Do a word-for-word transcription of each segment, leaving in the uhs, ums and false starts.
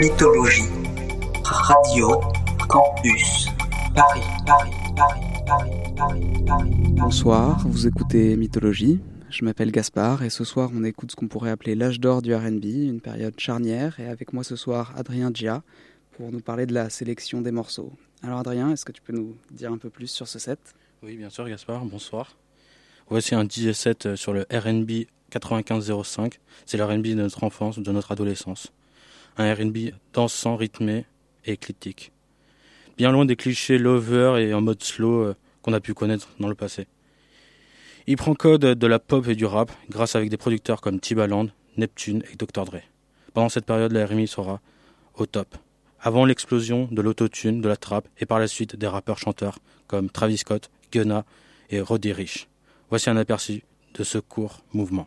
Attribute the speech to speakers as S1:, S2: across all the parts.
S1: Mythologie. Radio Campus Paris, Paris, Paris, Paris, Paris, Paris.
S2: Bonsoir, vous écoutez Mythologie. Je m'appelle Gaspard et ce soir on écoute ce qu'on pourrait appeler l'âge d'or du R and B, une période charnière. Et avec moi ce soir Adrien Gia pour nous parler de la sélection des morceaux. Alors Adrien, est-ce que tu peux nous dire un peu plus sur ce set ?
S3: Oui, bien sûr Gaspard, bonsoir. Voici un D J set sur le R and B quatre-vingt-quinze zéro cinq. C'est le R and B de notre enfance, de notre adolescence. Un R and B dansant, rythmé et éclectique. Bien loin des clichés lover et en mode slow euh, qu'on a pu connaître dans le passé. Il prend code de la pop et du rap grâce avec des producteurs comme Timbaland, Neptune et docteur Dre. Pendant cette période, le R and B sera au top. Avant l'explosion de l'autotune, de la trap et par la suite des rappeurs-chanteurs comme Travis Scott, Gunna et Roddy Ricch. Voici un aperçu de ce court mouvement.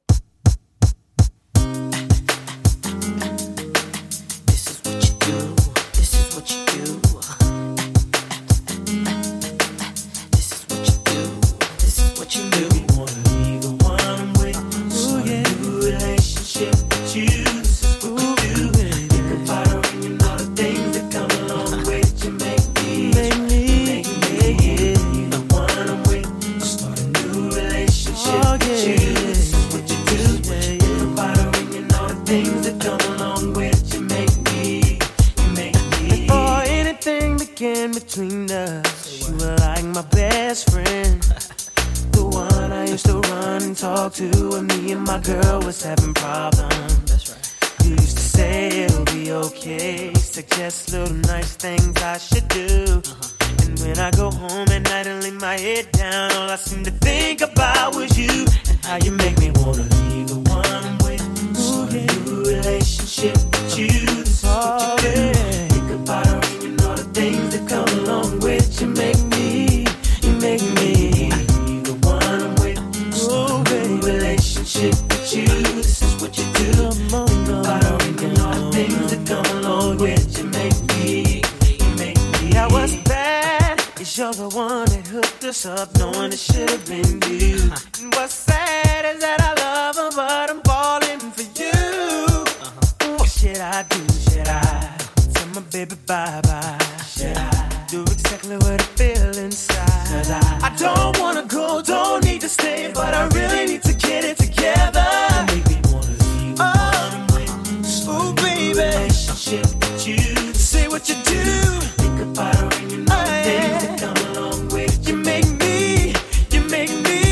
S4: Between us, you were like my best friend, the one I used to run and talk to when me and my girl was having problems. That's right. You used to say it'll be okay, suggest little nice things I should do. Uh-huh. And when I go home at night and lay my head down, all I seem to think about was you and how you make me wanna leave the one I'm with. Start a new relationship with you. This is what you do. Think about her and you know the things that come along with you. Make me, you make me leave the one I'm with. Oh, baby, relationship with you. This is what you do. Think about her and you know the things that come along with you. Make me, you make me. Now what's bad is you're the one that hooked us up, knowing it should have been you. And what's sad is that I love her, but I'm falling for you. Uh-huh. What should I do? Should I tell my baby bye-bye? Should I do exactly what I feel inside? Cause I, I don't wanna go, don't need to stay, but I really need to get it together. You make me wanna leave the oh, one I'm with. Oh, baby, relationship with you. Say what you do. Think about her and you know oh, the things that come along with you. Make me, you make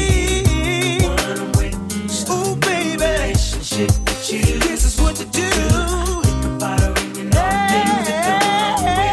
S4: me the one I'm with. Oh, baby, relationship with you. This is what you do. Think about her and you know the things that come along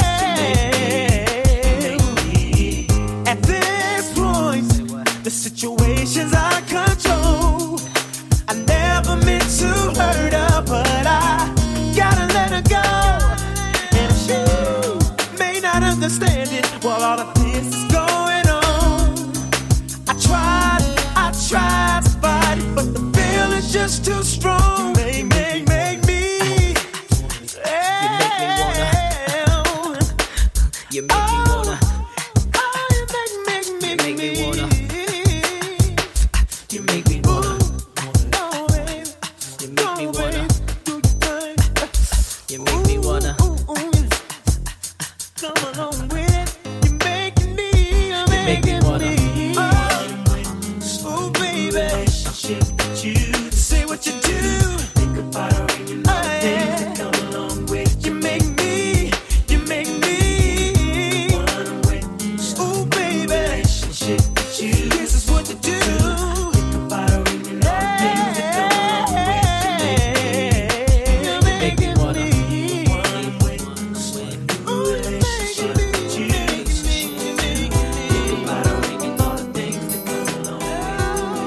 S4: with you. Make me, you make me. At this point, the situation's out of control. I never meant to hurt her, but I gotta let her go. And she may not understand it while all of this is going on. I tried, I tried to fight it, but the feeling's just too strong. Make, make, make me. You make me wanna. You make me wanna. Oh, you make, make, make, make me wanna. You make me wanna. Oh, baby. You make me wanna. You make me wanna. Come along with it. You're making me. You're making me. Oh, baby. Relationship with you. Say what you do. Think about her and you know the things that come along with you. Make me. You make me. One I'm with. Oh, baby. Relationship with you. This is what you do. Think about her and you know the things that come along with you. You make me wanna. One I'm with. Ooh, relationship with you. Think about her and you know the things that come along with you.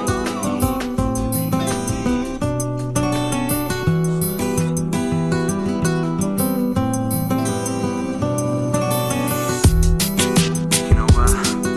S5: You know what?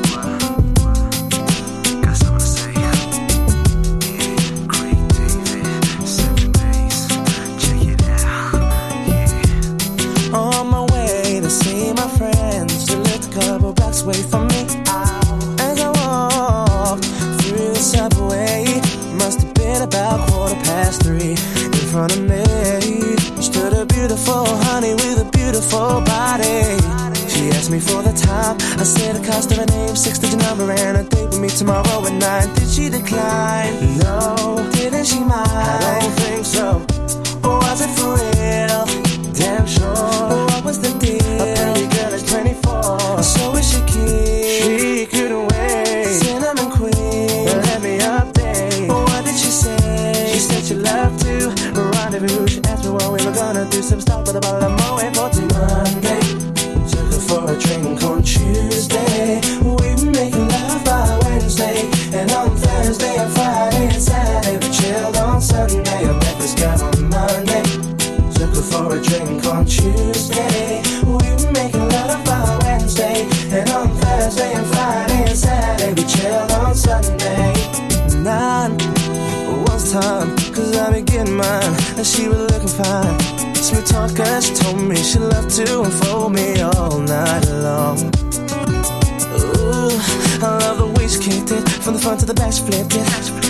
S5: Got something to say. Yeah, Craig David, seven days. Check it out. Yeah.
S4: On my way to see my friends, who lived a couple blocks away from me. As I walked through the subway, must have been about quarter past three. In front of me stood a beautiful beautiful honey with a beautiful body. She asked me for the time. I said the cost of her name, six-digit number, and a date with me tomorrow at nine. Did she decline? No. Didn't she mind? I don't think so. Or was it for real? Damn sure. What was the deal? A pretty girl is twenty-four, so is she keen? She couldn't wait. Cinnamon queen, let me update. What did she say? She said she loved to rendezvous. She asked me what we were gonna do. Some stop with a bottle of Moët for till Monday. Took her for a drink on Tuesday. We were making love by Wednesday, and on Thursday and Friday and Saturday we chilled on Sunday. I met this guy on Monday. Took her for a drink on Tuesday. We were making love by Wednesday, and on Thursday and Friday and Saturday we chilled on Sunday. Nine was time, cause I been getting mine, and she was looking fine. Smooth talker, she told me she loved to unfold me all night long. Ooh, I love the way she kicked it, from the front to the back she flipped it.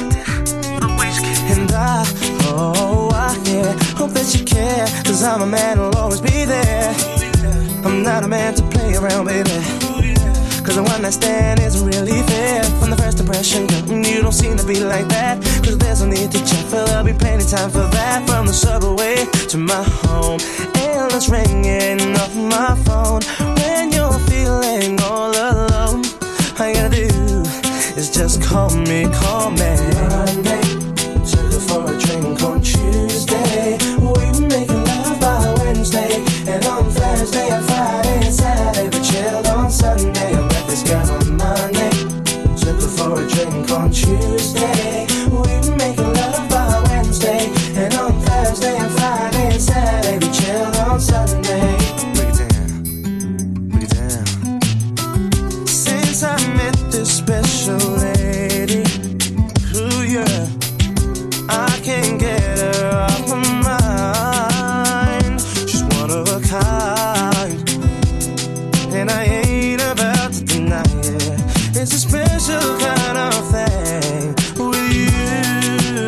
S4: And I, oh, I, yeah, hope that you care, cause I'm a man who'll always be there. I'm not a man to play around, baby, cause the one night stand isn't really fair. From the first impression, girl, you don't seem to be like that. Cause there's no need to check, for there'll be plenty of time for that. From the subway to my home, endless ringing off my phone. When you're feeling all alone, all you gotta do is just call me, call me. Monday, took her for a drink on Tuesday. We were making love by Wednesday, and on Thursday and Friday and Saturday we chilled on Sunday. I met this guy on Monday. Took her for a drink on Tuesday. We were making love by Wednesday, and on Thursday and Friday and Saturday we chilled on Sunday. Break it down, break it down. Since I met this special lady, ooh yeah, I can't get her off my mind. She's one of a kind, and I ain't about to deny it. It's a special kind of thing with you.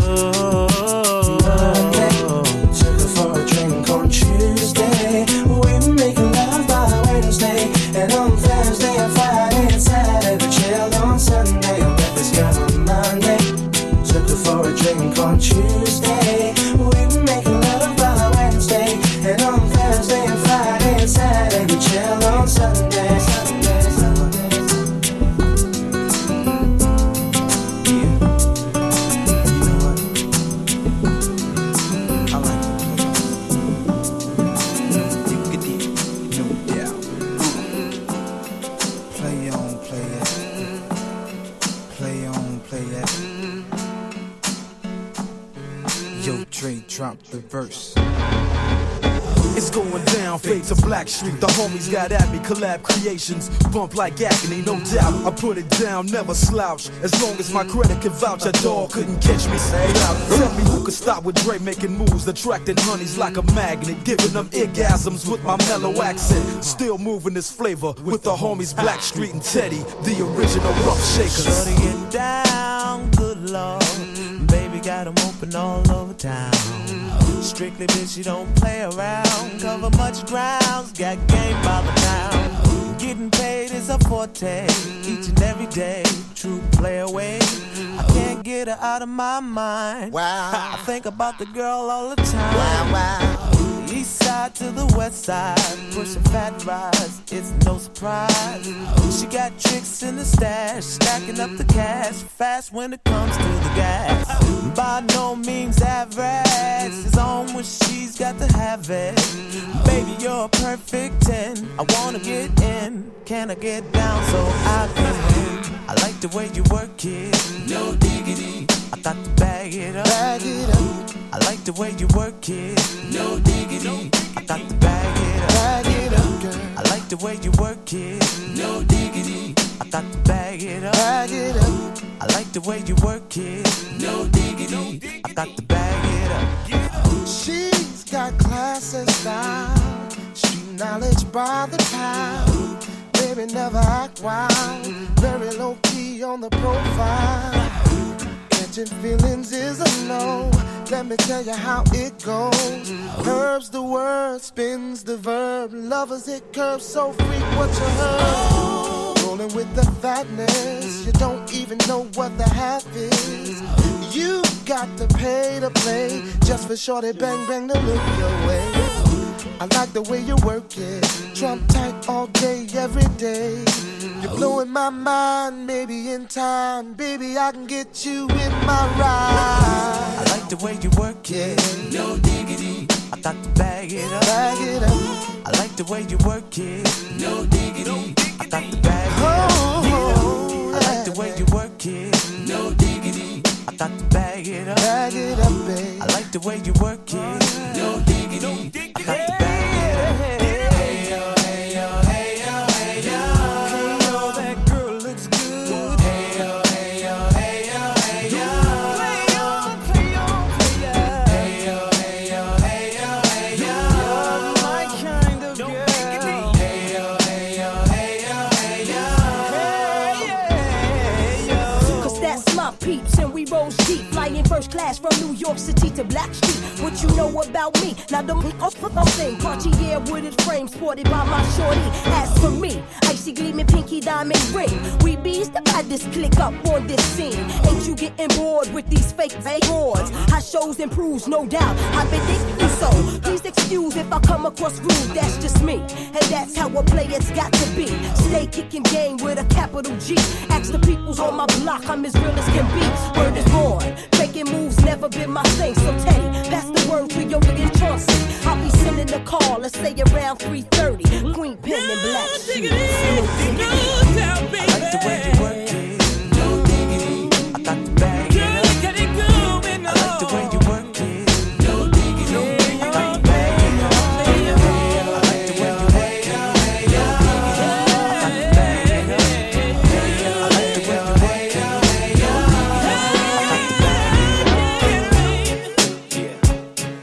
S4: Monday, took her for a drink on Tuesday. We were making love by Wednesday, and on Thursday and Friday and Saturday we chilled on Sunday. I met this guy on Monday. Took her for a drink on Tuesday. We were making love by Wednesday, and on Thursday and Friday and Saturday we chilled on Sunday. Sunday, Sunday.
S6: Drop the verse. It's going down, fade to Black Street. The homies got at me, collab creations. Bump like agony, no doubt. I put it down, never slouch. As long as my credit can vouch, a dog couldn't catch me. Say out. Tell me who could stop with Dre making moves, attracting honeys like a magnet, giving them orgasms with my mellow accent. Still moving this flavor with the homies Black Street and Teddy, the original rough shakers.
S4: Shorty get down, good lord. Baby got them open all over town. Strictly bitch, you don't play around. Cover much grounds, got game by the pound. Getting paid is a forte, each and every day. True play away. I can't get her out of my mind. Wow. I think about the girl all the time. Wow, wow. East side to the west side, pushing fat rides, it's no surprise. She got tricks in the stash, stacking up the cash, fast when it comes to the gas. By no means average, it's on when she's got to have it. Baby, you're a perfect ten, I wanna get in. Can I get down so I can win? I like the way you work it, no diggity. I got to bag it up, bag it up. I like the way you work it, no diggity. I got to bag it up, bag it up, girl. I like the way you work it, no diggity. I got to bag it up, bag it up. I like the way you work it, no diggity. I got to bag it up.
S7: She's got class and style, street knowledge by the pound. Baby never act wild, very low key on the profile. catching feelings is a no. Let me tell you how it goes. Herbs the word, spins the verb. Lovers it curves, so freak what you heard. Rolling with the fatness, you don't even know what the half is. You got to pay to play, just for shorty bang bang to look your way. I like the way you work it, trump tight all day, every day. You're blowing my mind, maybe in time, baby I can get you in my ride.
S4: I like the way you work it, no diggity. I got to bag it up,
S7: bag it up.
S4: I like the way you work it, no diggity. I got to bag it up.
S7: Oh,
S4: I like the way you work it, no diggity. I got to bag it up,
S7: bag it up, babe.
S4: I like the way you work it, no diggity. I got to bag it up. Hey yo, hey yo, hey yo, hey yo. Hey yo, that girl looks good. Hey yo, hey yo, hey yo, hey yo. Play on, play on, play on. Hey yo, hey yo, hey yo, hey yo. You're my kind of girl. Hey yo, hey yo, hey yo, hey yo. Hey yo.
S8: Cause that's my peeps and we roll deep, flying first class from New York City to Blackstreet. What you know about me? Now don't off for thing. Cartier wooded frame sported by my shorty. As for me, icy gleaming pinky diamond ring. We bees the baddest click up on this scene. Ain't you getting bored with these fake awards? High shows improves, no doubt. I've been thinking so. Please excuse if I come across rude. That's just me, and that's how a player's got to be. Stay kicking game with a capital G. Ask the peoples on my block, I'm as real as can be. Word is born, making moves never been my thing. So Teddy, pass the word to your nigga Chauncey. I'll be sending a call, let's say around three thirty. Queen Pen and Black Shoes.
S4: I like the way you work it, no diggity. I got to bag it up. I like the way you work it, no diggity. I got to bag it up. I like the way you work it, no diggity. I got to bag it up. I like the way you work it, no diggity. I got to bag it up.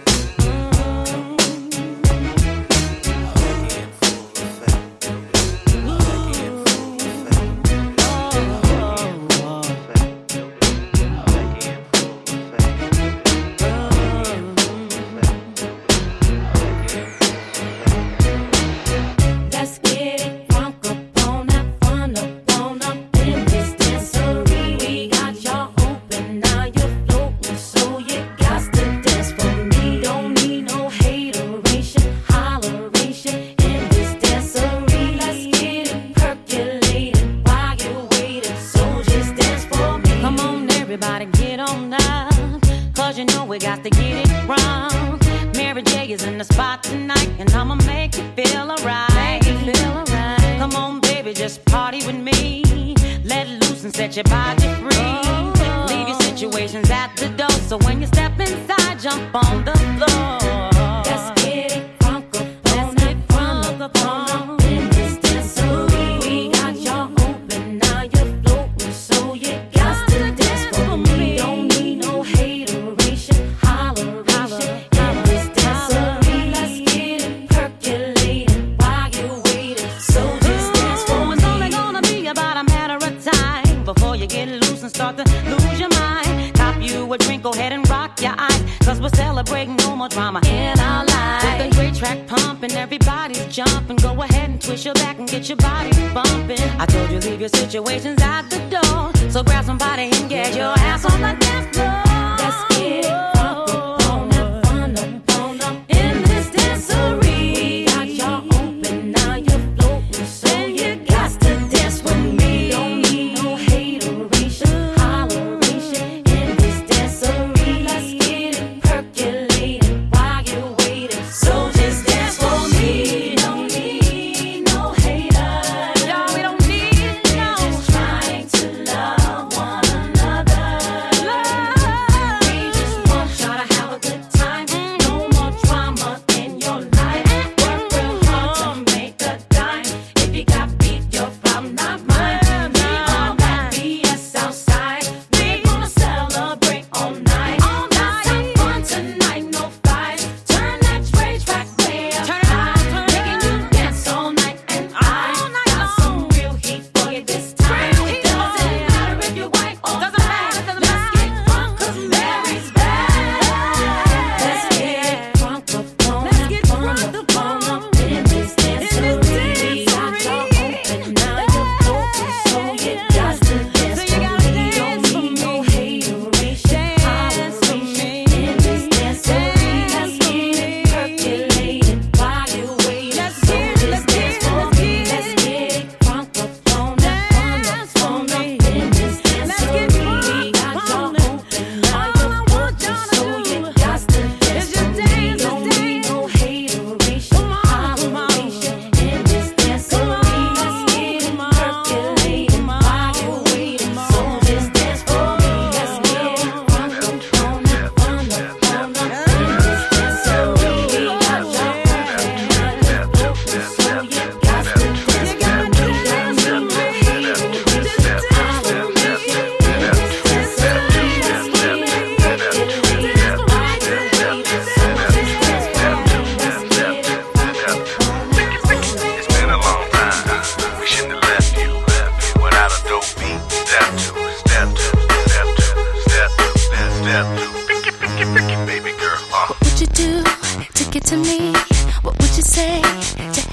S9: Let's get it crunk up on that fun up on up in this dancery. We got y'all open, now you're floating, so you got to dance for me. Don't need no hateration, holleration in this dancery. Let's get it percolated while you're waiting, so just dance for me.
S10: Come on, everybody, get on up, cause you know we got to get it wrong. Mary J is in the spot tonight, and I'ma make you feel alright. Make you feel alright. Come on, baby, just party with me. Let loose and set your body free. Oh. Leave your situations at the door, so when you step inside, jump on the floor.
S9: Let's get it crunk up on that fun up on up in this dancery. We got y'all open, now you're floating, so you got to dance for me. Don't need no hateration, holleration in this dancery. Let's get it percolated while you're waiting, so just dance for
S10: Oh,
S9: me.
S10: it's only gonna be about a matter of time before you get loose and start to lose your mind. Cop you a drink, go ahead and rock your eyes, cause we're celebrating no more drama in our lives. With a great track pumping, everybody's jumping. Go ahead and twist your back and get your body bumping. I told you leave your situations at the door, so grab somebody and get your ass on the dance floor.
S9: Let's get it crunk up on that fun up on up in this dancery. We got y'all open, now you're floating, so you got to dance with me. Don't need no hateration, holleration in this dancery. Let's get it percolated while you're waiting, so just dance for me. Don't need no haters,
S10: Y'all, we don't need no.
S9: just trying to love one another.
S10: Love.
S9: We just want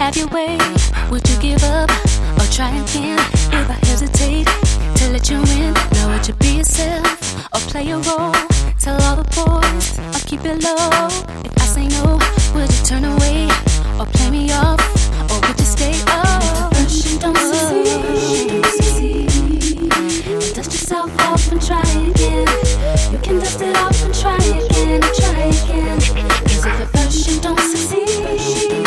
S11: have your way? Would you give up or try again? If I hesitate to let you in, now would you be yourself or play a role? Tell all the boys or keep it low. If I say no, would you turn away or play me off, or would you stay? Oh, first you don't succeed, then dust yourself off and try again. You can dust it off and try again, and try again. Cause if at first you don't succeed,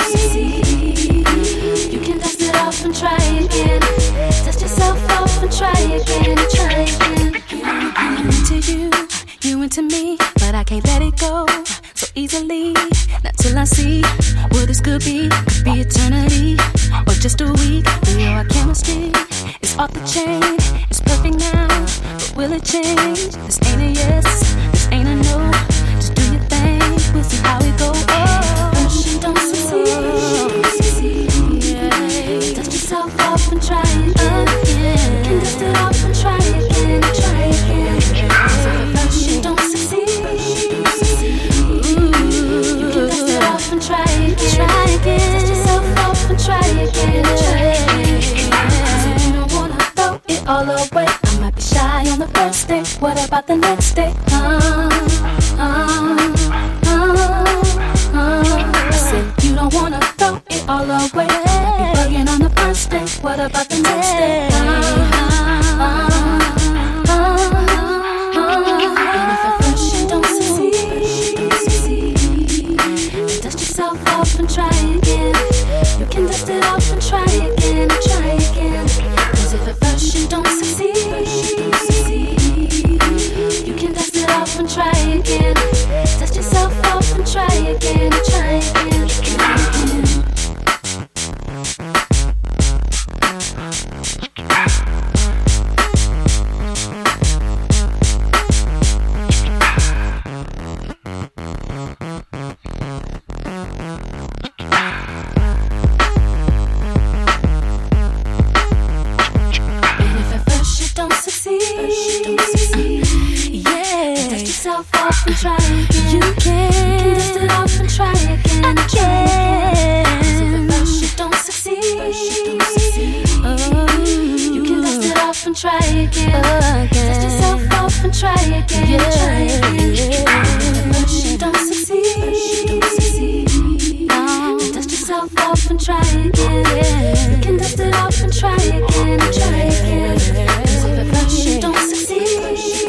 S11: you can dust it off and try again. Dust yourself off and try again, and try again. I'm into you, you into me, but I can't let it go so easily. Not till I see what this could be. Could be eternity or just a week. We know our chemistry is off the chain. It's perfect now, but will it change? This ain't a yes, this ain't a no. Just do your thing, we'll see how it go. Oh, first you don't succeed, yeah. Dust yourself off and try again. You can dust it off and try again, try again. So first you don't succeed, you can dust it off and try again, try again. Dust yourself off and try again, try again. So you don't wanna throw it all away. I might be shy on the first day. What about the next day? Uh, uh, uh, uh. I said you don't wanna throw it all away. Be bugging on the first day. What about the next day? Uh, uh, uh, uh. And if at first you don't succeed, then dust yourself off and try again. You can dust it off and try again, try again. Cause if at first you don't succeed, you can dust it off and try again. Dust yourself off and try again, try again, try again. Off and try again. You can, you can dust it off and try again, and try again. If at first you don't succeed, oh, you can dust it off and try again. Dust yourself off and try again, yeah. Try again. If at first you don't succeed, no, dust yourself off and try again. You can dust it off and try again, and try again. Cause if at first you don't succeed,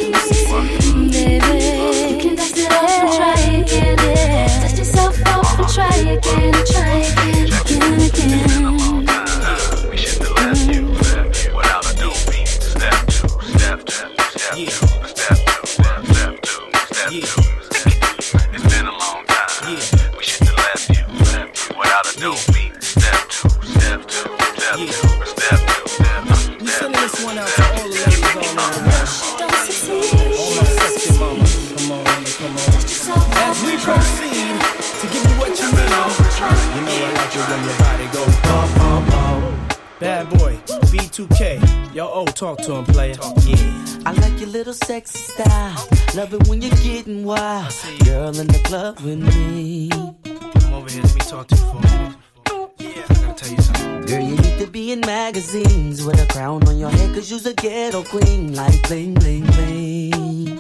S11: baby, try again, yeah. Dust yourself off and try again, try again, again, again.
S5: We should have left you without a new beat. Step two, step two, step two, step two, step two, step two. It's been a long time. We should have left you without a new beat. Step two, step two, step two, step two, step two.
S12: We sending this one out to all the ladies all over the world. All my sexy mamas, come on, come on. As we proceed to give you what you need, you know I like it when your body goes bum, bum, bum. Bad boy, B two K, yo, oh, talk to him, player.
S13: Yeah, I like your little sexy style. Love it when you're getting wild. Girl in the club with me.
S12: Come over here, let me talk to you for a minute. Yeah, I gotta tell you something.
S13: Girl, you need to be in magazines with a crown on your head, cause you's a ghetto queen, like bling, bling, bling.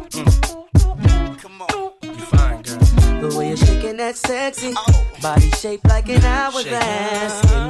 S13: The way you're shaking that sexy oh. Body shaped like an hourglass. Can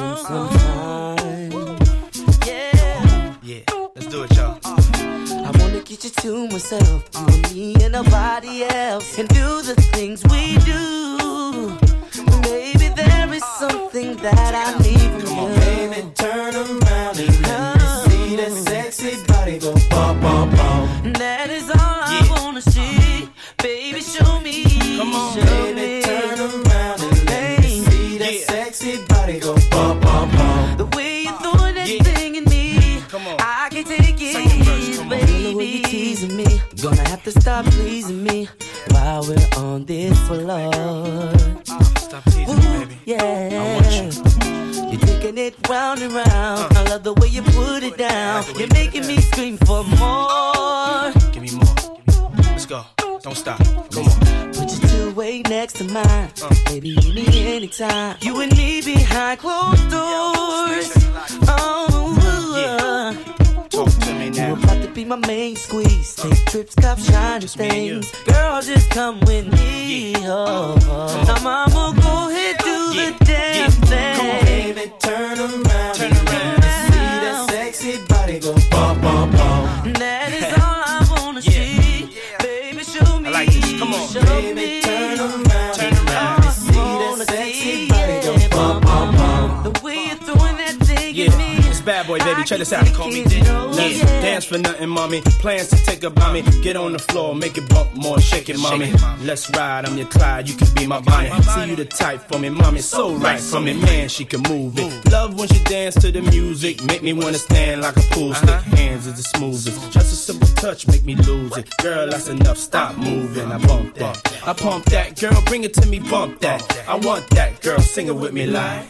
S13: we spend some time? Yeah.
S12: Yeah, let's do it, y'all.
S13: I wanna get you to myself, you and me and nobody else, and do the things we do. Baby, there is something that I need from
S12: Come
S13: you.
S12: on, baby, turn around and let me see that sexy body go bum, bum, bum.
S13: That is all I yeah. wanna see. Baby, show me.
S12: Come on,
S13: show
S12: baby,
S13: me.
S12: turn around and let me see that yeah. sexy body go bum, bum, bum.
S13: The way you're throwing that yeah. thing in me, come on. I can't take it, verse, baby. The way you're teasing me, gonna have to stop pleasing me while we're on this floor.
S12: Uh, stop teasing Ooh, me, baby.
S13: Yeah.
S12: I want you.
S13: You're taking it round and round. Uh, I love the way you put it down. Like you're making me scream for more.
S12: Give me more. Let's go. Don't stop. Come on.
S13: Put your two-way next to mine. Uh. Baby, you need me anytime. You and me behind closed doors. Oh,
S12: yeah. Talk to me now.
S13: You about to be my main squeeze. Take trips, cop shiny
S12: just
S13: things. Girl, just come with me.
S12: Yeah.
S13: Oh, oh. Now, mama, go ahead, do yeah. the damn yeah. thing.
S12: Come on, baby, turn around. Turn around. See that sexy body go bum, bum, bum.
S13: That is all I wanna yeah. see. Yeah. Baby, show me.
S12: I like this. Come on,
S13: show
S12: baby,
S13: me.
S12: turn around. Turn around. Oh, see that sexy body go bum, bum, bum.
S13: The way you're throwing that thing
S12: yeah.
S13: at me.
S12: It's Bad Boy, baby. Check this out. Call me Diddy. Let's
S13: yeah.
S12: dance for nothing, mommy. Plans to take about me. Get on the floor, make it bump more, shake it, mommy. Let's ride. I'm your Clyde. You can be my Bonnie. See you the type for me, mommy. So right for me, man. She can move it. Love when she dance to the music. Make me wanna stand like a pool stick. Hands is the smoothest. Just a simple touch, make me lose it. Girl, that's enough. Stop moving. I bump that. I pump that. Girl, bring it to me. Bump that. I want that. Girl, sing it with me like.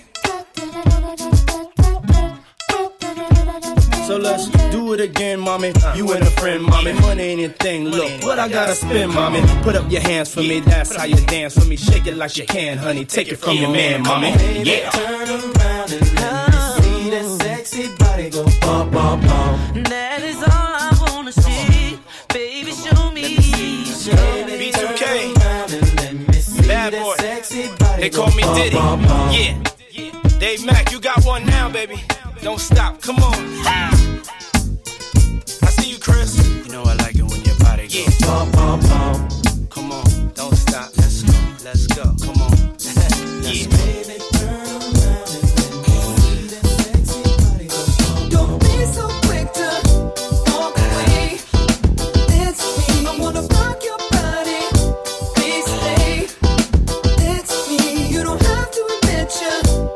S12: So let's do it again, mommy. You and a friend, mommy. Money ain't a thing. Look, what I gotta spend, mommy. Put up your hands for me. That's how you dance for me. Shake it like you can, honey. Take it from your man, mommy. Yeah. Turn around and let me see that sexy body go bum, bum, bum.
S13: That is all I wanna see. Baby, show me. Show me.
S12: B two K. Bad Boy. They call me Diddy. Yeah. Dave Mack, you got one now, baby. Don't stop, come on. I see you, Chris. You know I like it when your body goes yeah. bum, bum, bum. Come on, don't stop. Let's go, let's go. Come on. Yeah. Baby, turn around and let me see that sexy body go bum.
S14: Don't be so quick to walk away. It's me. I wanna rock your body. Please stay. It's me. You don't have to admit you.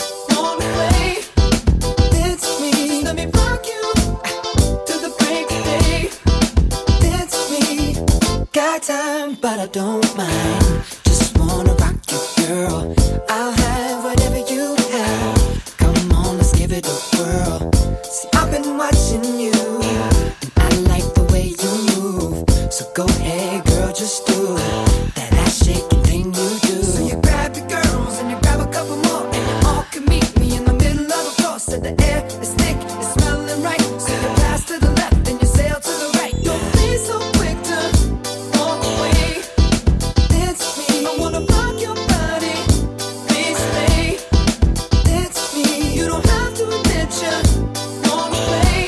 S14: Got time, but I don't mind. Just wanna rock you, girl. I'll have whatever you have. Come on, let's give it a whirl. See, I've been watching you, and I like the way you move. So go ahead, girl, just do that ass shaking thing you do. So you grab your girls and you grab a couple more, and you all can meet me in the middle of the floor. So the air is thick, it's smelling right. So you pass to the left and you sail to the right. Don't be so quick to walk away. It's me. I wanna rock your body. Please stay. It's me. You don't have to admit you wanna play.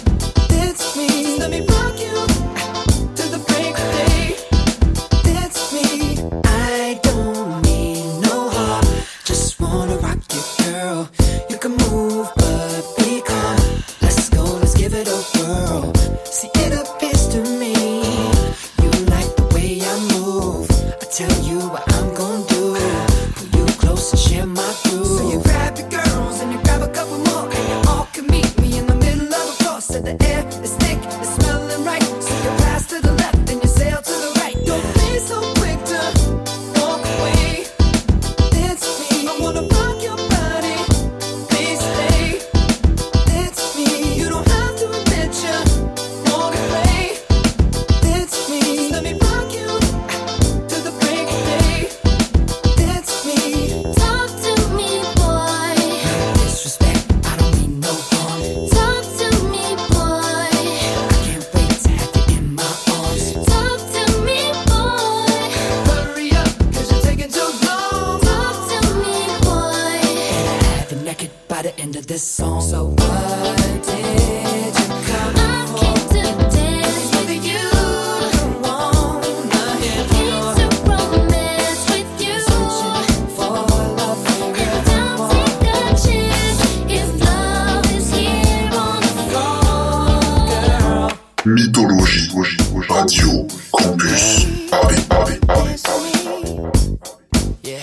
S14: It's me. Let me rock you to the break of day. It's me. I don't mean no harm. Just wanna rock you, girl. You can move, but be calm. Let's go. Let's give it a whirl. See, it appears to me you like the way I move. I tell you what I'm gonna do. Pull you close and share my groove. So you grab your girls and you grab a couple more, and you all can meet me in the middle of the floor. So the air is thick, it's smelling right. So you pass to the left and you sail to the right. Don't be so quick to walk away. It's me. I wanna rock your body. Please stay. It's me. You don't have to admit you wanna play. It's me. Let me rock you to the break of day. It's me.
S11: Talk to me, boy.
S14: Disrespect, I don't mean no harm.
S11: Talk to me, boy.
S14: I can't wait to have you in my arms.
S11: Talk to me, boy.
S14: Hurry up, cause you're taking too long.
S11: Talk to me, boy.
S14: And I have you naked by the end of this song. So what did you come
S11: I came to dance with you.
S14: Don't wanna hear
S11: Came to romance with you.
S14: for love for
S11: And
S14: real.
S11: don't take a chance if love is here on the floor.
S15: Mythologie, Radio, Campus, Paris, Paris, Paris, Paris.
S14: Yeah.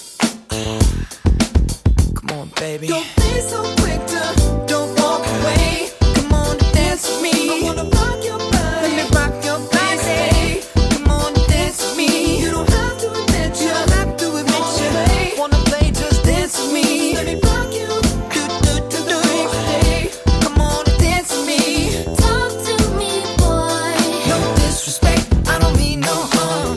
S14: Come on, baby. Don't be so quick to don't walk away. Come on and dance with me. I wanna rock your body. Let me rock your body. Come on and dance with me. You don't have to admit you. don't have to admit you. Wanna play, just dance with me. Let me rock you. Do do do do. Come on and dance with me.
S11: Talk to me, boy.
S14: No disrespect, I don't mean no harm.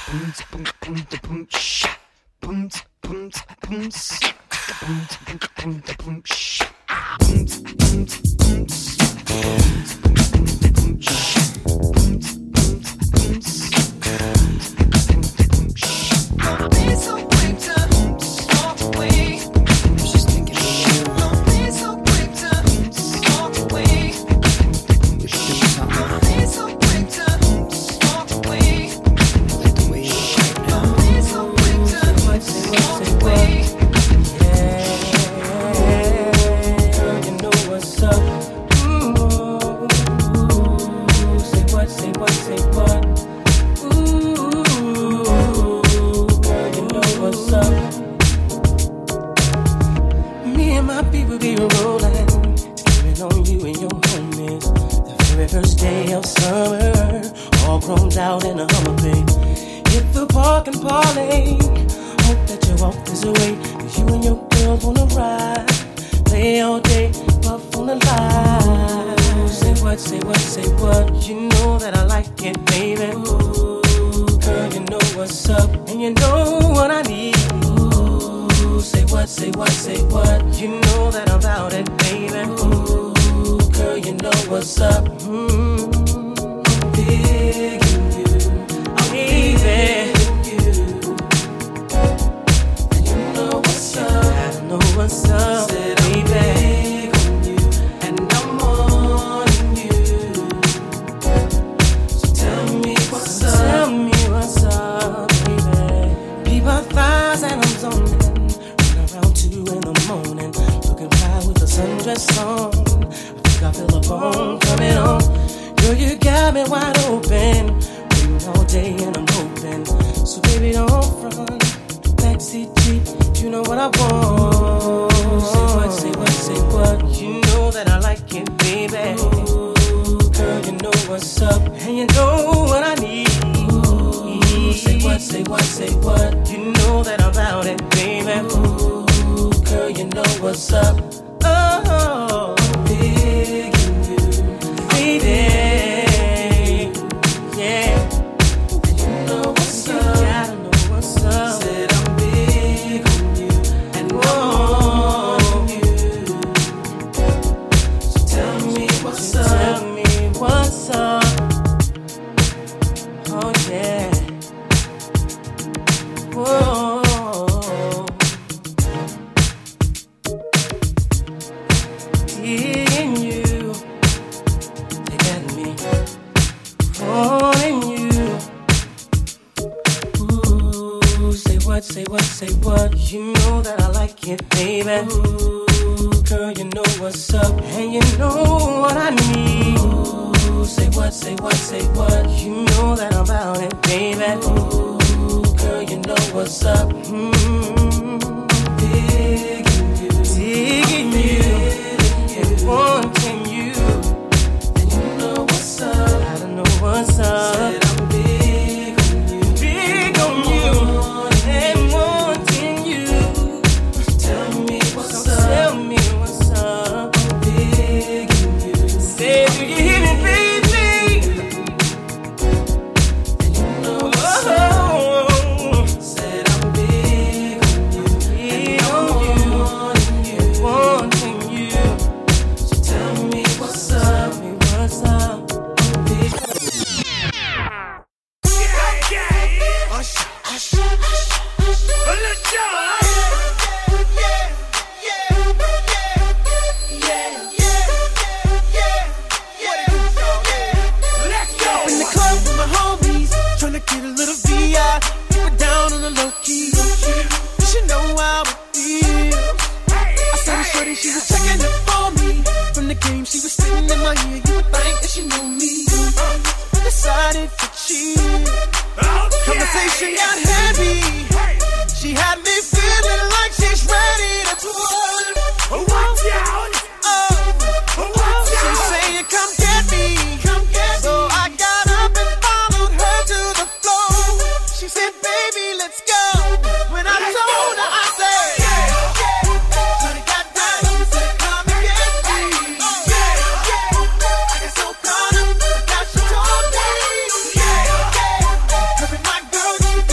S7: Every my girl,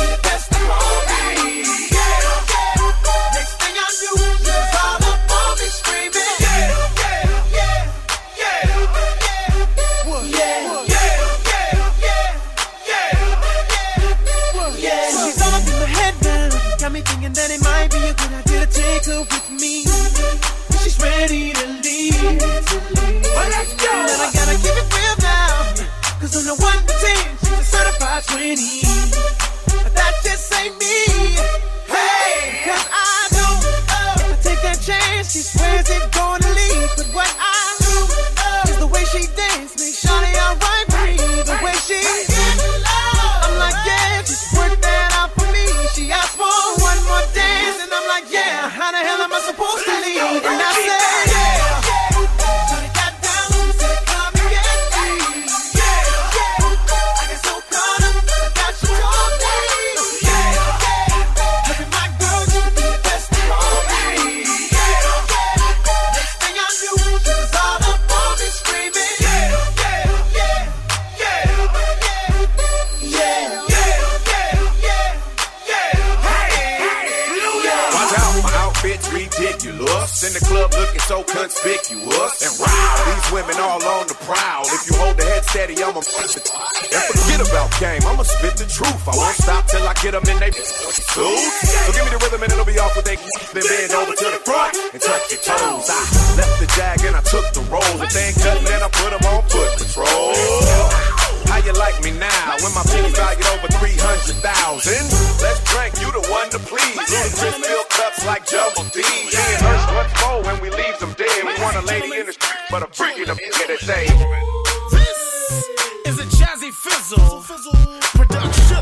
S4: me thinking that it might be a good idea to take her with me. She's ready to leave. Well, let's go. And I gotta keep it real now, cause on the one to ten, she's a certified twenty. But that just ain't me. Hey, cause I know uh, if I take that chance, she swears it's gonna leave. But what I do uh, is the way she dance makes Shawty alright with me. The way she I'm like, yeah, just work that out for me. She asked for one more dance, and I'm like, yeah, how the hell am I supposed to leave? And I said, yeah. So they got down, said, come and get me. Yeah, yeah. I get so caught up, I got you all day. Yeah, yeah. Look at my girl, you be the best of all me. Yeah, yeah. Next thing I knew, she was all up on me screaming. Yeah, yeah, yeah, yeah, yeah, yeah, yeah, yeah, yeah.
S16: Watch out, my outfit's ridiculous. In the club looking so conspicuous. And wow, these women all on the prowl. If you hold the head steady, I'ma push it. And forget about game, I'ma spit the truth. I won't stop till I get them in they suits. So give me the rhythm and it'll be off with they then bend over to the front and touch your toes. I left the jag and I took the roll. If they ain't cutting, then I put them on foot patrol. How you like me now when my pennies valued over three hundred thousand? Let's drink, you the one to please. Ludacris fill cups like Jumbo D. Me and Ursh once more when we leave them dead. We want a lady in the street, but a freak in the get it say.
S12: This is a Jazzy Fizzle production.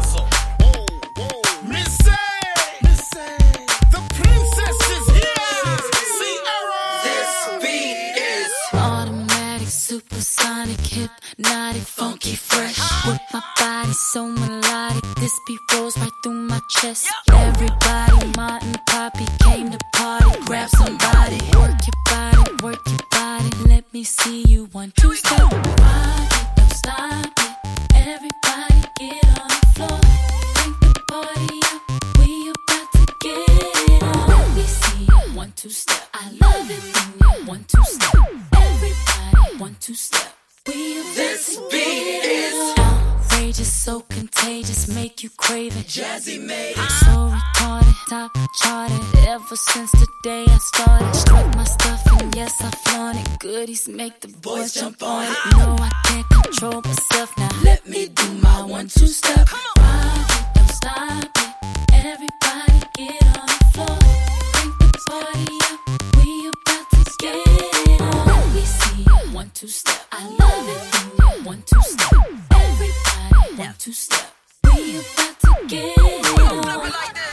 S12: Miss A, the princess is here. Sierra.
S14: This beat is automatic, supersonic, hypnotic, funky, fresh. With my body so melodic, this beat rolls right through my chest. Everybody, Martin, Poppy came to party. Grab somebody, work your body, work your body. Let me see you one, two, step. Rock it, don't stop it. Everybody get on the floor. Crank the party up, we about to get it on. Let me see you one, two, step. I love it when you one, two, step. Everybody, one, two, step. We this beat is outrageous, so contagious, make you crave it. Jazzy made it. So retarded, top charted. Ever since the day I started, struck my stuff and yes I flaunt it. Goodies make the boys jump on it. No, I can't control myself now. Let me do my one two step. Rock it, don't stop it. Everybody get on the floor. Crank the party up, we about to get it on. Let me see you one two step. I love it when you one two step. Everybody one two step. We about to get it on.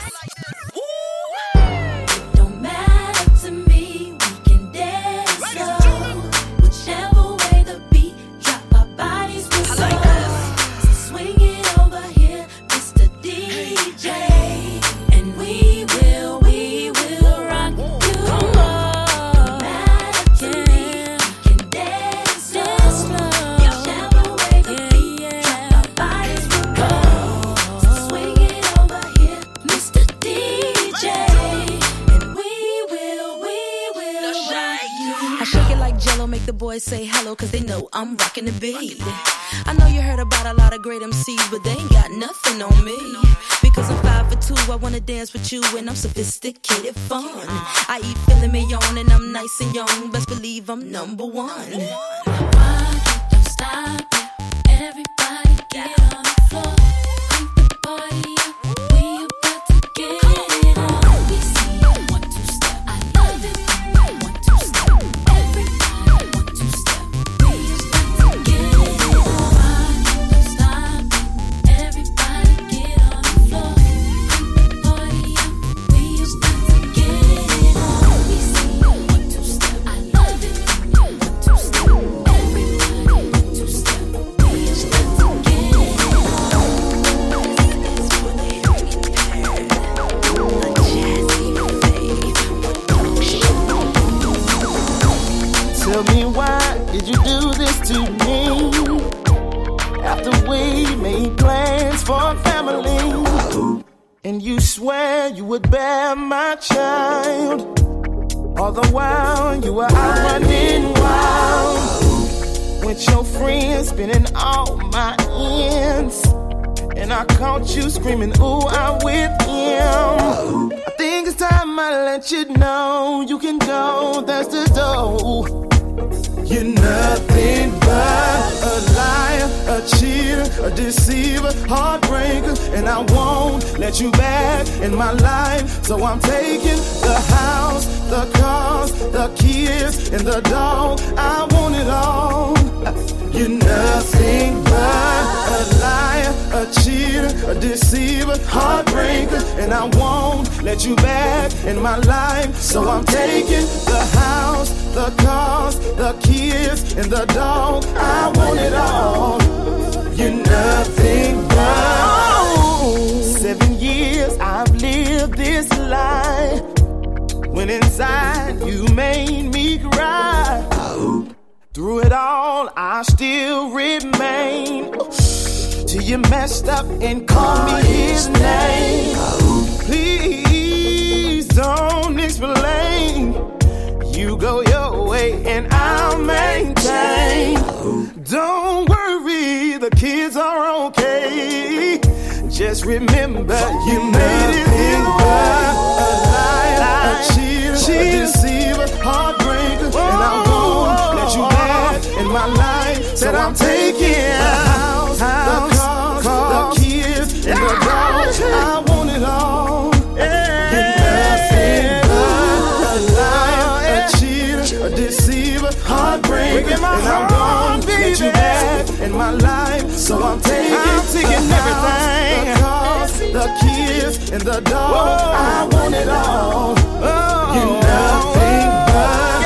S14: It don't matter to me, we can dance slow. Whichever way the beat drop, our bodies will slow. So swing it over here, Mister D J, and we will, we will rock you. Don't matter to me, we can dance slow. Whichever way the beat drop, our bodies will go. So swing it over here, Mister D J, and we will, we will rock you.
S8: I shake it like Jello, make the boys say hello, cause they know I'm rocking the beat. I know you heard about a lot of great M Cs, but they ain't got nothing on me. Because I'm five for two, I wanna dance with you, and I'm sophisticated fun. I eat filet mignon, and I'm nice and young, best believe I'm number one.
S14: Rock it, don't stop it. Everybody get on the floor. Crank the party up, we about to get it on. Let me see you one two step. I love it when you one two step. Everybody one two step. We about to get it on. Rock it, don't stop it. Everybody get on the floor. Crank the party up, we about to get it on. Let me see you one two step. I love it when you one two step. Everybody one two step. We about to get it on.
S7: Tell me why did you do this to me? After we made plans for a family, and you swear you would bear my child. All the while you were out running wild with your friends, spending all my ends. and I caught you screaming, ooh, I'm with him. I think it's time I let you know you can go, that's the door. You're nothing but a liar, a cheater, a deceiver, heartbreaker, and I won't let you back in my life. So I'm taking the house, the cars, the kids, and the dog. I want it all. You're nothing but a liar, a cheater, a deceiver, heartbreaker, and I won't let you back in my life. So I'm taking the house, the cars, the kids, and the dog. I want it all. You're nothing but. Seven years I've lived this life, when inside you made me cry. Through it all, I still remain. Till you messed up and called me his name. Please don't explain. You go your way and I'll maintain. Don't worry, the kids are okay. Just remember you made it in the world. A liar, a cheater, a deceiver, heartbreaker, and I won't let you back in my life. Said I'm taking the house, the cars, the kids, and the dogs. I want it all. You're nothing but a liar, a cheater, a deceiver, heartbreaker, and I won't let you back in my life. So I'm taking, I'm taking everything, the cars, the kids, and the dog. I want it all. You're nothing but.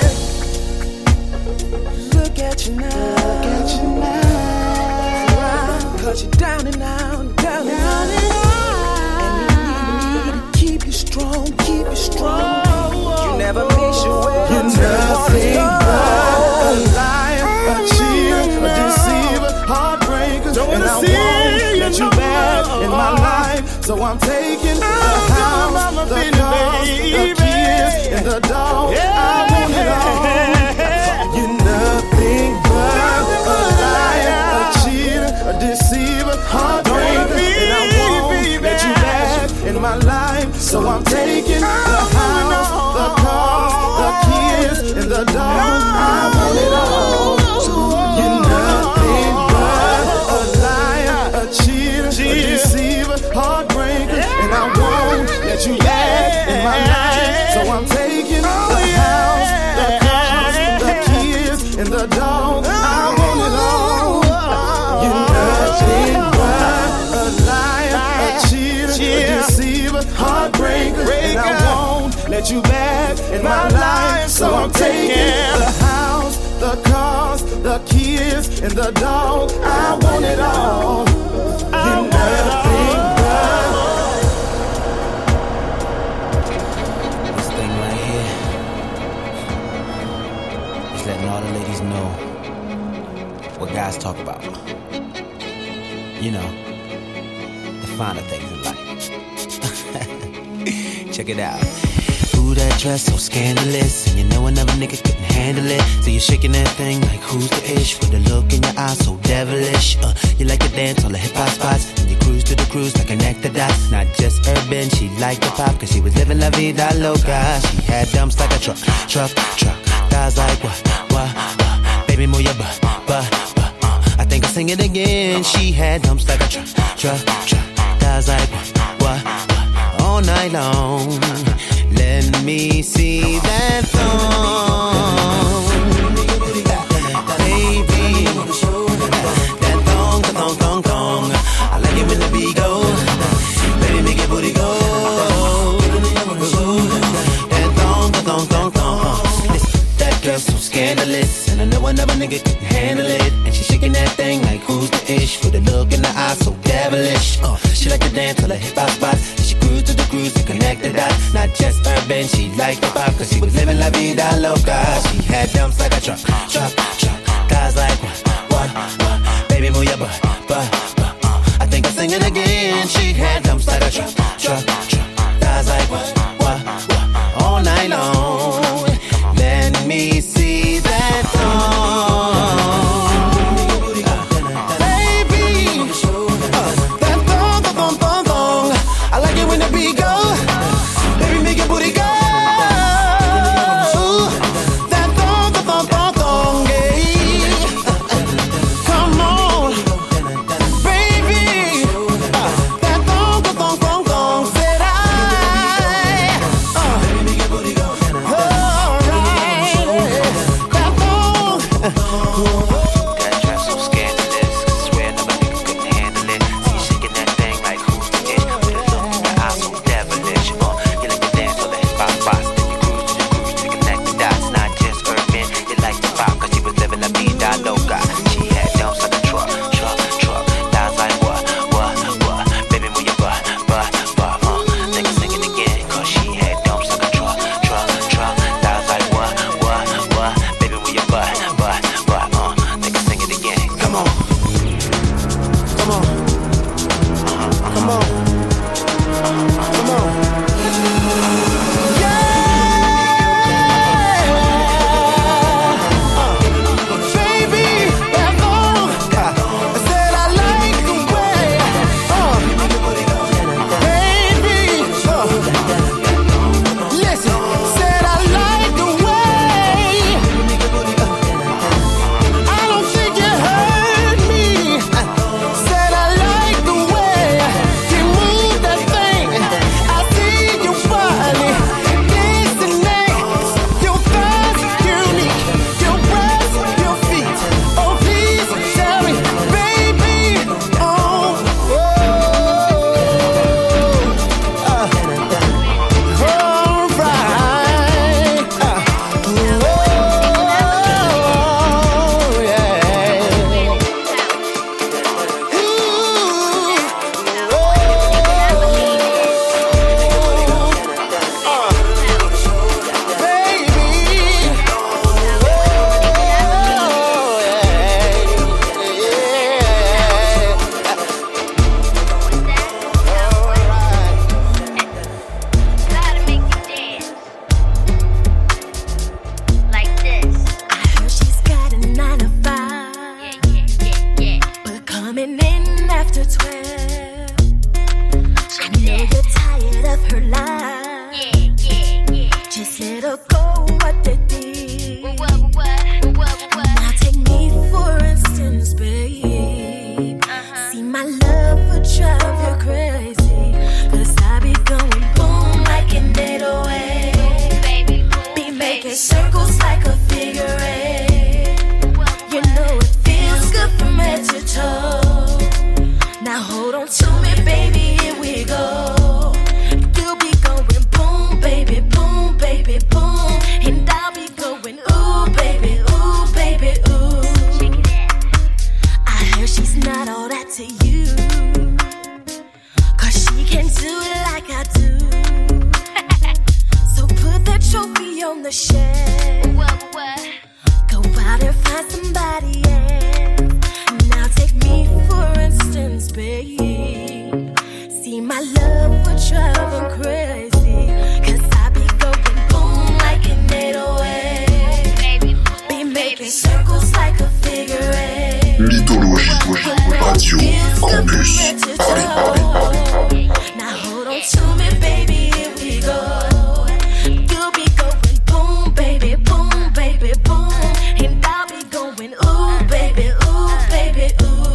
S7: Look at you now, look at you now. Cause you're down and out, down and out. And you need me to keep you strong, keep you strong. You never miss your way. You're nothing but a liar, a cheater, a deceiver, heartbreaker, and I won't let you back in my life. So I'm taking the house, the cars, the kids, and the dog. I want it all. You're nothing but a liar, a cheater, a deceiver, heartbreaker, and I won't let you back in my life. So I'm taking the house, the cars, the kids, and the dog. I want it all. You're nothing but a liar, a cheater, a deceiver, heartbreaker, and I won't let you back in my life. So I'm taking the house, the cars, the kids, and the dog. I want it all. You're nothing but a liar, a cheater, a deceiver, heartbreaker, and I won't let you back in my life. So I'm taking the house, the cars, the kids, and the dog. I want it all. You're nothing but.
S17: This thing right here is letting all the ladies know what guys talk about. You know, the finer things in life. Check it out. Ooh, that dress so scandalous, and you know another nigga couldn't handle it. So you're shaking that thing like who's the ish, with a look in your eyes so devilish. Uh, you like to dance on the hip hop spots, and you cruise to the cruise like connect the dots. Not just urban, she liked the pop, cause she was living la vida loca. She had dumps like a truck, truck, truck. Thighs like what, what, what. Baby, move your butt, butt, butt. Uh, I think I'll sing it again. She had dumps like a truck, truck, truck. Thighs like what, what, what. All night long. Let me see that thong, baby. That thong, that thong, thong, thong. I like it when the beat go. Baby, make your booty go. That thong, that thong, thong, thong. Listen, that girl's so scandalous, and I know another nigga couldn't handle it. And she shaking that thing like who's the ish, with a look in the eyes so devilish. Uh, she like to dance till the hip hop spots. Cruise to the cruise and connect the dots. Not just urban, she liked the pop, cause she was living la vida loca. She had dumps like a truck, truck, truck. Guys like what, what, what. Baby, move your butt, butt, butt. Uh, I think I'll sing it again. She had dumps like a truck, truck, truck. Guys like what, what, what. All night long. Let me see that thong. Uh, baby, uh,
S8: do it like I do. So put that trophy on the shelf. Go out and find somebody else. Now take me for instance, babe. See my love for driving crazy. Cause I be going boom like an eight oh eight. Be making circles like a figure eight.
S15: Mythologie, Radio, Campus, Paris, Paris, Paris.
S8: Now hold on to me, baby, here we go. You'll be going boom, baby, boom, baby, boom. And I'll be going ooh, baby, ooh, baby, ooh.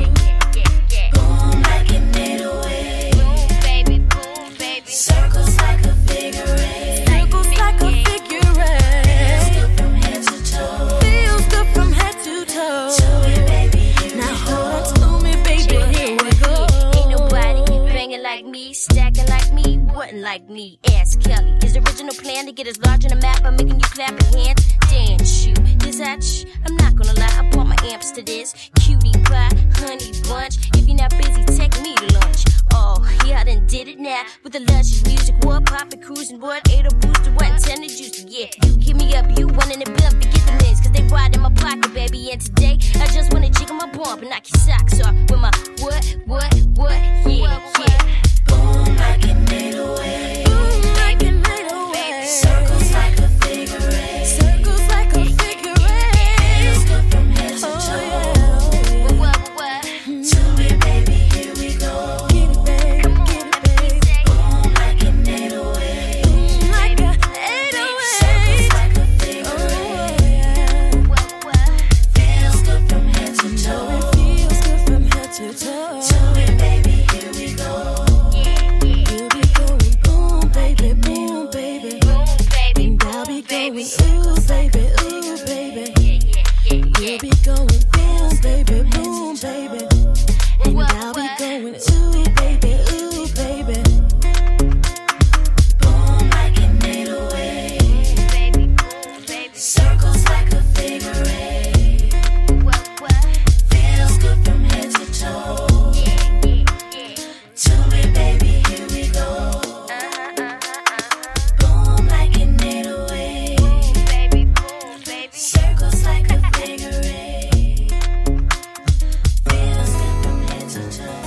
S8: Boom like an eight oh eight. Circles like a figure eight. Circles like a figure eight. Feels good from head to toe. Feels good from head to toe. To me, baby, now hold on to me, baby, here we go.
S18: Ain't nobody banging like me, stacking like me, wasn't like me. Ask Kelly. His original plan to get us large on the map by making you clap your hands, dance you. Is that sh- I'm not gonna lie, I bought my amps to this. Cutie pie, honey bunch. If you're not busy, take me to lunch. Oh, yeah, I done did it now. With the luscious music, what poppin', cruising, what? Ate a booster, what? Intended juice, yeah. You give me up, you running the bill, forget the minutes. Cause they ride in my pocket, baby. And today, I just wanna jiggle my bump and knock your socks off with my what, what, what? Yeah, yeah.
S8: Boom like an eight oh eight. Boom like an eight oh eight. Circles like a figure eight. Circles like a figure eight. Feels good from head to toe.
S18: What, what?
S8: To me, baby, here we go. Get it, babe, get it, babe. Boom like an eight oh eight. Boom like an eight oh eight. Circles like a figure eight. Feels good from head to toe. It feels good from head to toe. To me, baby, here we go. You'll be going boom, baby, boom, baby. And I'll be going ooh, baby, ooh, baby. You'll be going boom, baby, boom, baby. And I'll be going ooh, baby, ooh, baby. Boom like an eight oh eight. Circles like a figure eight. Feels good from head to toe. To me, baby, here we go. Boom like an eight oh eight. Circles like a figure eight. Feels good from head to toe.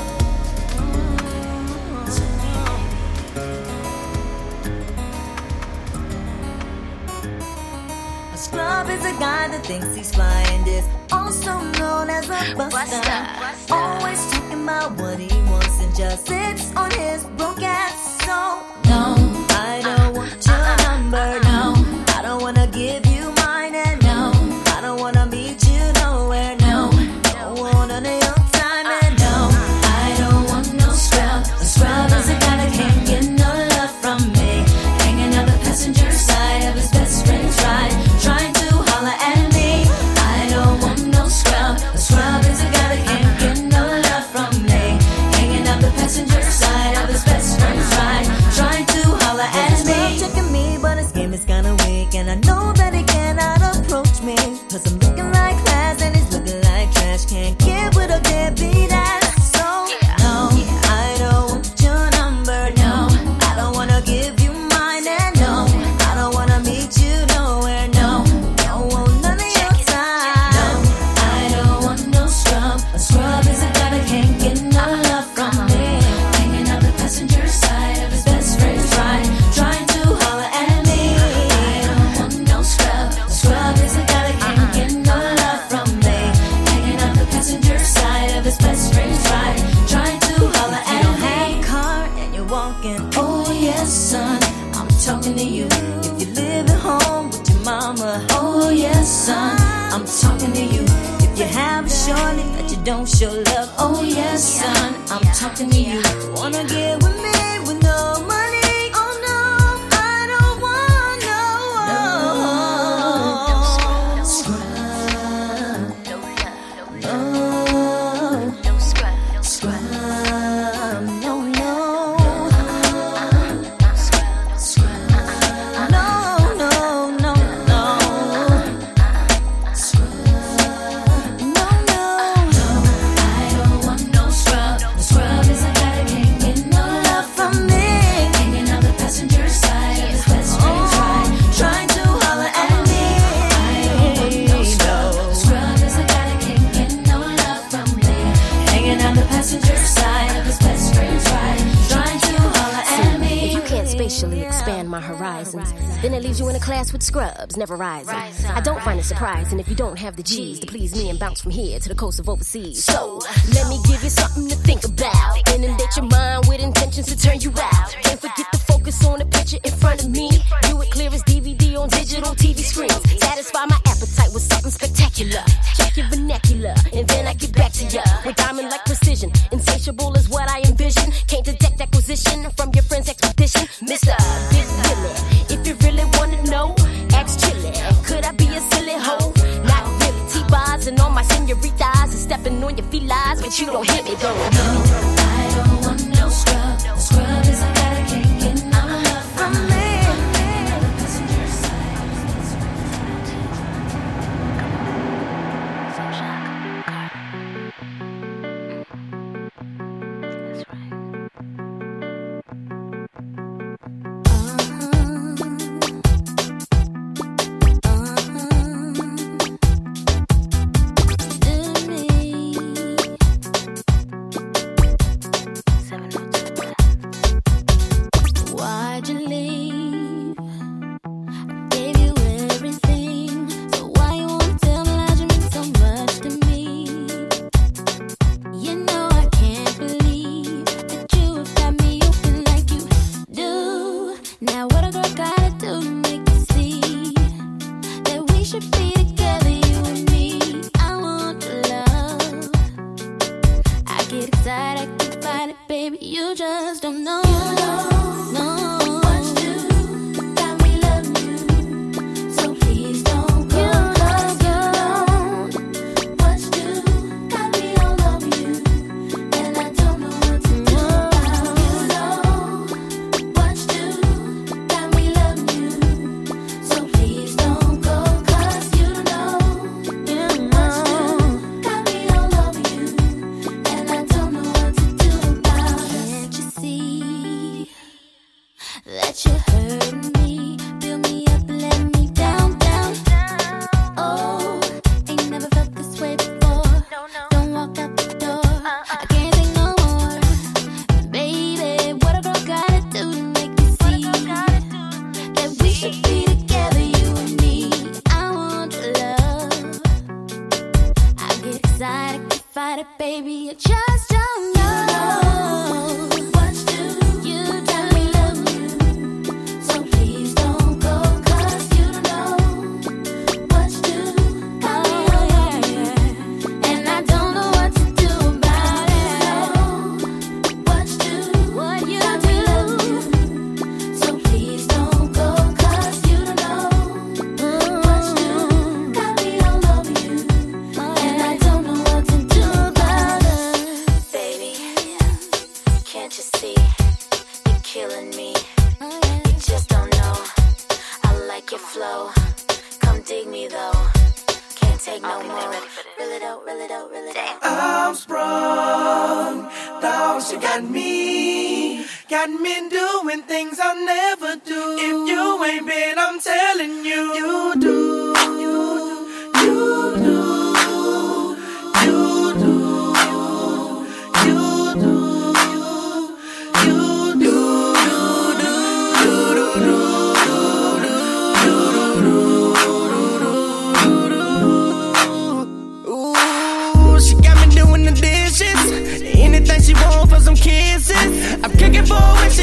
S19: A scrub is a guy that thinks he's fly and is also known as a buster. Always talking about what he wants and just sits on his broke ass. So no, I don't want your number. No, I don't wanna give you mine. And no, I don't wanna meet you nowhere. No, don't want none of your time. And no, I don't want no scrub. A scrub is a guy that can't get no love from me. Hanging out the passenger side of his best friend's ride, trying to holler at me. I don't want no scrub. A scrub is a guy that can't get no love from me. Hanging out the passenger side of his best friend's ride, trying to holler at me. Checking me, but his game is kinda weak, and I know that he cannot approach me. Cause I'm looking like class and he's looking like trash. Can't get with a deadbeat ass. So no, I don't want your number. No, I don't wanna give you mine. And no, I don't wanna meet you nowhere. No, don't want none of your time. No, I don't want no scrub. A scrub is a guy that can't get no love from me. Hanging out the passenger side of his best friend's ride, trying to holler at me. I don't want no scrub. A scrub is a guy that can't get no love from me. Hanging out the passenger side of his best friend's ride, trying to holler at me. Have a car and you're walking. Oh yes, son, I'm talking to you. If you live at home with your mama. Oh yes, son, I'm talking to you. If you have a shorty that you don't show love. Oh yes, son, I'm talking to you. Wanna get with me with no money? Oh no, I don't want no, no scrub. No, no scrub. Scrub, no, no. Scrub, no, no, no, no. Scrub, no, no, no. I don't want no scrub. The scrub is a guy that can't get no
S18: initially expand my horizons. Then it leaves you in a class with scrubs, never rising. I don't find it surprising if you don't have the G's to please me and bounce from here to the coast of overseas. So, let me give you something to think about. Inundate your mind with intentions to turn you out. Don't forget to focus on the picture in front of me. View it clear as D V D on digital T V screens. Satisfy my appetite with something spectacular. Check your vernacular, and then I get back to ya with diamond-like precision. Insatiable is what I envision. Can't detect acquisition from your friend's expedition. Mister Big Billy, if you really wanna know, ask Chili. Could I be a silly hoe? Not really. T-bars and all my senoritas and stepping on your felines, but you don't hit me though. No, I don't want no scrub. No scrub is I gotta can't get no love from me.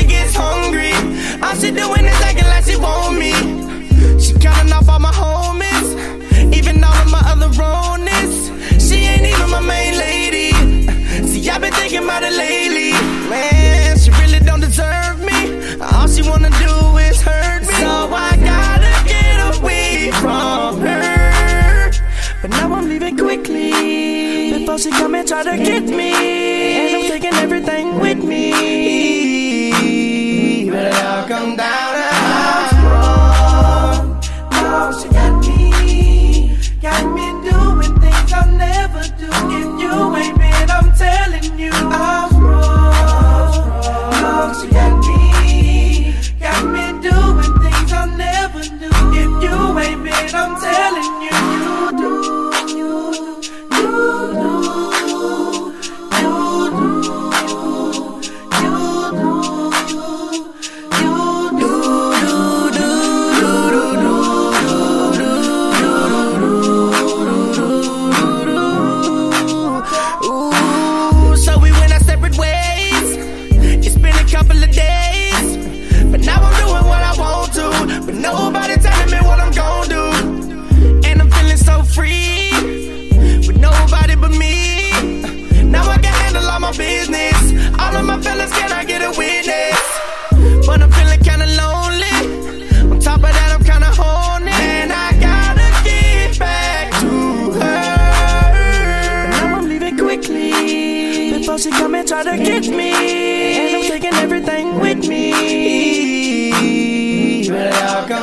S20: All she doing is acting like she want me. She counting off all my homies.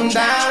S20: down.